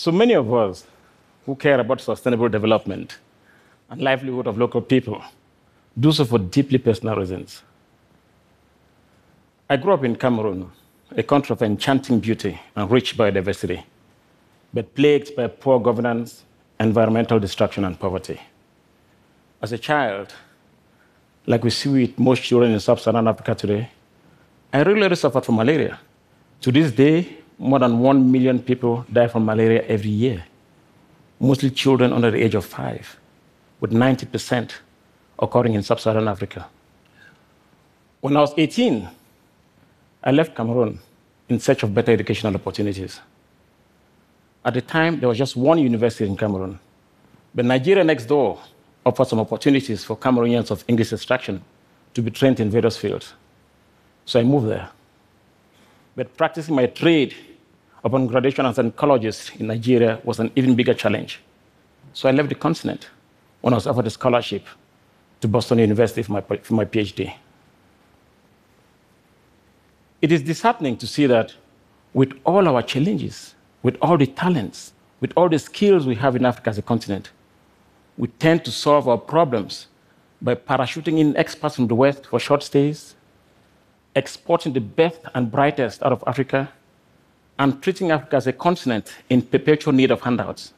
So many of us who care about sustainable development and livelihood of local people do so for deeply personal reasons. I grew up in Cameroon, a country of enchanting beauty and rich biodiversity, but plagued by poor governance, environmental destruction, and poverty. As a child, like we see with most children in sub-Saharan Africa today, I regularly suffered from malaria. To this day, more than 1 million people die from malaria every year, mostly children under the age of 5, with 90% occurring in sub-Saharan Africa. When I was 18, I left Cameroon in search of better educational opportunities. At the time, there was just one university in Cameroon, but Nigeria next door offered some opportunities for Cameroonians of English extraction to be trained in various fields. So I moved there. But practicing my trade upon graduation as an ecologist in Nigeria was an even bigger challenge. So I left the continent when I was offered a scholarship to Boston University for my PhD. It is disheartening to see that with all our challenges, with all the talents, with all the skills we have in Africa as a continent, we tend to solve our problems by parachuting in experts from the West for short stays, exporting the best and brightest out of Africa, and treating Africa as a continent in perpetual need of handouts.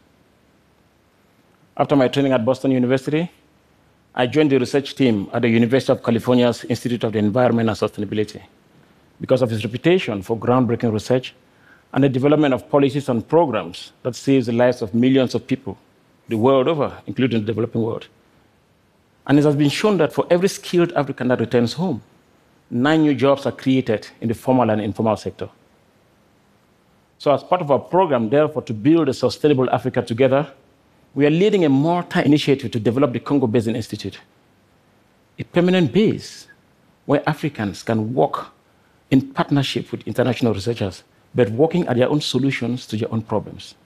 After my training at Boston University, I joined the research team at the University of California's Institute of the Environment and Sustainability because of its reputation for groundbreaking research and the development of policies and programs that saves the lives of millions of people the world over, including the developing world. And it has been shown that for every skilled African that returns home, 9 new jobs are created in the formal and informal sector. So as part of our program, therefore, to build a sustainable Africa together, we are leading a multi-initiative to develop the Congo Basin Institute, a permanent base where Africans can work in partnership with international researchers, but working at their own solutions to their own problems.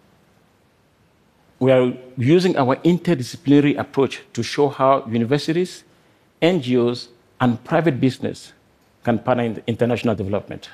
We are using our interdisciplinary approach to show how universities, NGOs, and private business can partner in international development.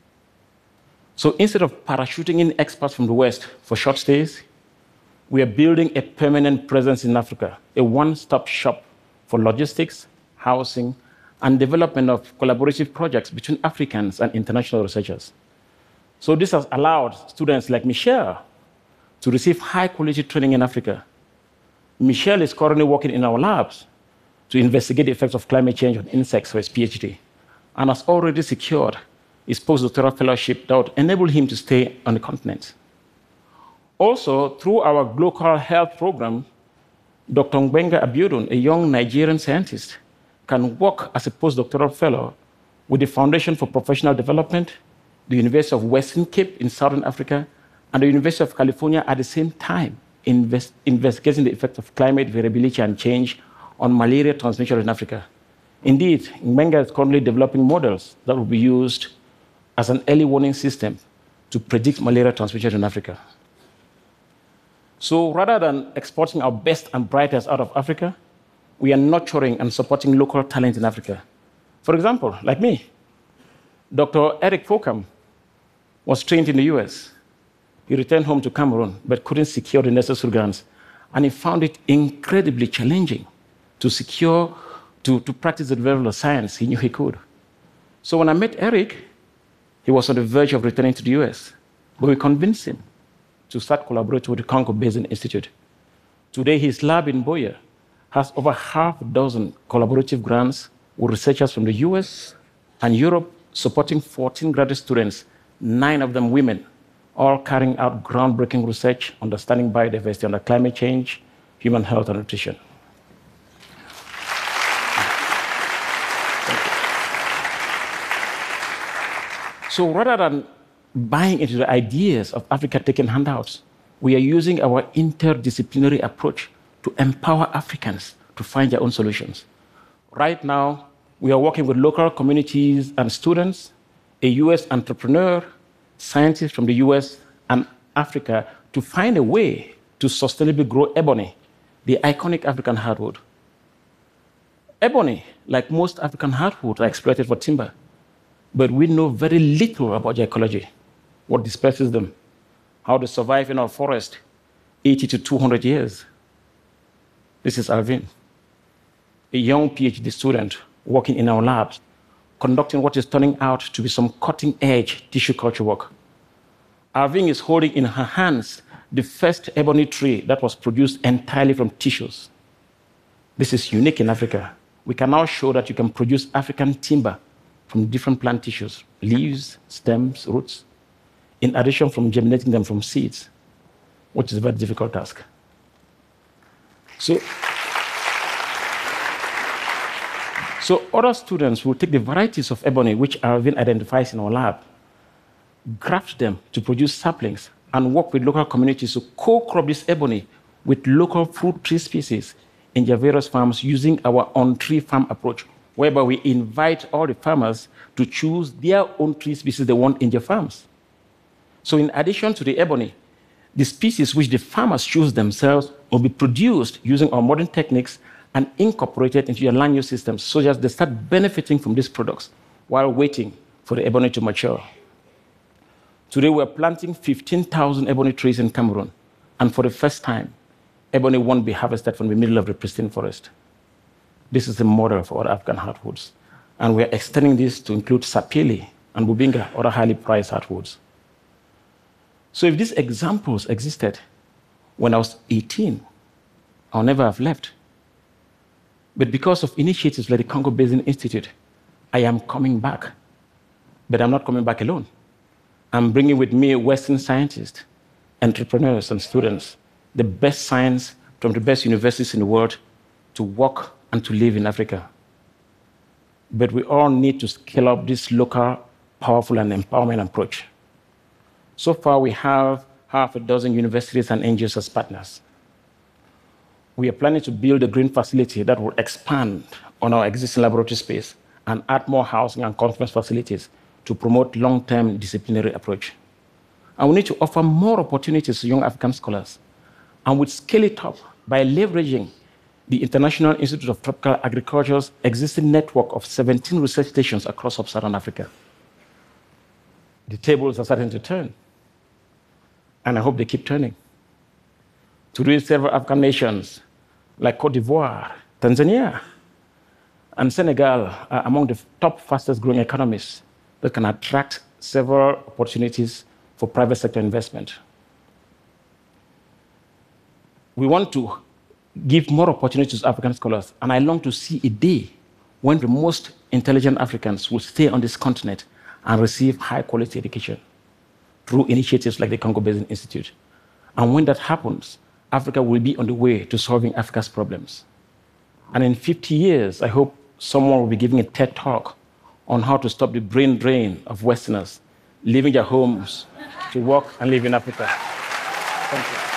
So instead of parachuting in experts from the West for short stays, we are building a permanent presence in Africa, a one-stop shop for logistics, housing, and development of collaborative projects between Africans and international researchers. So this has allowed students like Michelle to receive high-quality training in Africa. Michelle is currently working in our labs to investigate the effects of climate change on insects for his PhD, and has already secured his postdoctoral fellowship that would enable him to stay on the continent. Also, through our global health program, Dr. Ngbenga Abiodun, a young Nigerian scientist, can work as a postdoctoral fellow with the Foundation for Professional Development, the University of Western Cape in Southern Africa, and the University of California at the same time, investigating the effects of climate variability and change on malaria transmission in Africa. Indeed, Ngbenga is currently developing models that will be used as an early warning system to predict malaria transmission in Africa. So rather than exporting our best and brightest out of Africa, we are nurturing and supporting local talent in Africa. For example, like me, Dr. Eric Fokam was trained in the US. He returned home to Cameroon, but couldn't secure the necessary grants. And he found it incredibly challenging to practice the level of science he knew he could. So when I met Eric, he was on the verge of returning to the US, but we convinced him to start collaborating with the Congo Basin Institute. Today, his lab in Buea has over half a dozen collaborative grants with researchers from the US and Europe, supporting 14 graduate students, 9 of them women, all carrying out groundbreaking research, understanding biodiversity under climate change, human health, and nutrition. So rather than buying into the ideas of Africa taking handouts, we are using our interdisciplinary approach to empower Africans to find their own solutions. Right now, we are working with local communities and students, a US entrepreneur, scientists from the US and Africa to find a way to sustainably grow ebony, the iconic African hardwood. Ebony, like most African hardwoods, are exploited for timber, but we know very little about their ecology, what disperses them. how to survive in our forest 80 to 200 years. This is Arvind, a young PhD student working in our labs, conducting what is turning out to be some cutting-edge tissue culture work. Arvind is holding in her hands the first ebony tree that was produced entirely from tissues. This is unique in Africa. We can now show that you can produce African timber from different plant tissues, leaves, stems, roots, in addition from germinating them from seeds, which is a very difficult task. So other students will take the varieties of ebony which Arvind identifies in our lab, graft them to produce saplings, and work with local communities to co-crop this ebony with local fruit tree species in their various farms using our on-tree farm approach, whereby we invite all the farmers to choose their own tree species they want in their farms. So in addition to the ebony, the species which the farmers choose themselves will be produced using our modern techniques and incorporated into their land use systems so that they start benefiting from these products while waiting for the ebony to mature. Today, we're planting 15,000 ebony trees in Cameroon, and for the first time, ebony won't be harvested from the middle of the pristine forest. This is a model for other African hardwoods, and we're extending this to include sapele and bubinga, other highly prized hardwoods. So if these examples existed when I was 18, I'll never have left. But because of initiatives like the Congo Basin Institute, I am coming back. But I'm not coming back alone. I'm bringing with me Western scientists, entrepreneurs, and students, the best science from the best universities in the world to work and to live in Africa. But we all need to scale up this local, powerful, and empowerment approach. So far, we have half a dozen universities and NGOs as partners. We are planning to build a green facility that will expand on our existing laboratory space and add more housing and conference facilities to promote long-term disciplinary approach. And we need to offer more opportunities to young African scholars. And we'll scale it up by leveraging the International Institute of Tropical Agriculture's existing network of 17 research stations across sub-Saharan Africa. The tables are starting to turn, and I hope they keep turning. Today, several African nations like Cote d'Ivoire, Tanzania, and Senegal are among the top fastest growing economies that can attract several opportunities for private sector investment. We want to give more opportunities to African scholars, and I long to see a day when the most intelligent Africans will stay on this continent and receive high-quality education through initiatives like the Congo Basin Institute. And when that happens, Africa will be on the way to solving Africa's problems. And in 50 years, I hope someone will be giving a TED Talk on how to stop the brain drain of Westerners leaving their homes to work and live in Africa. Thank you.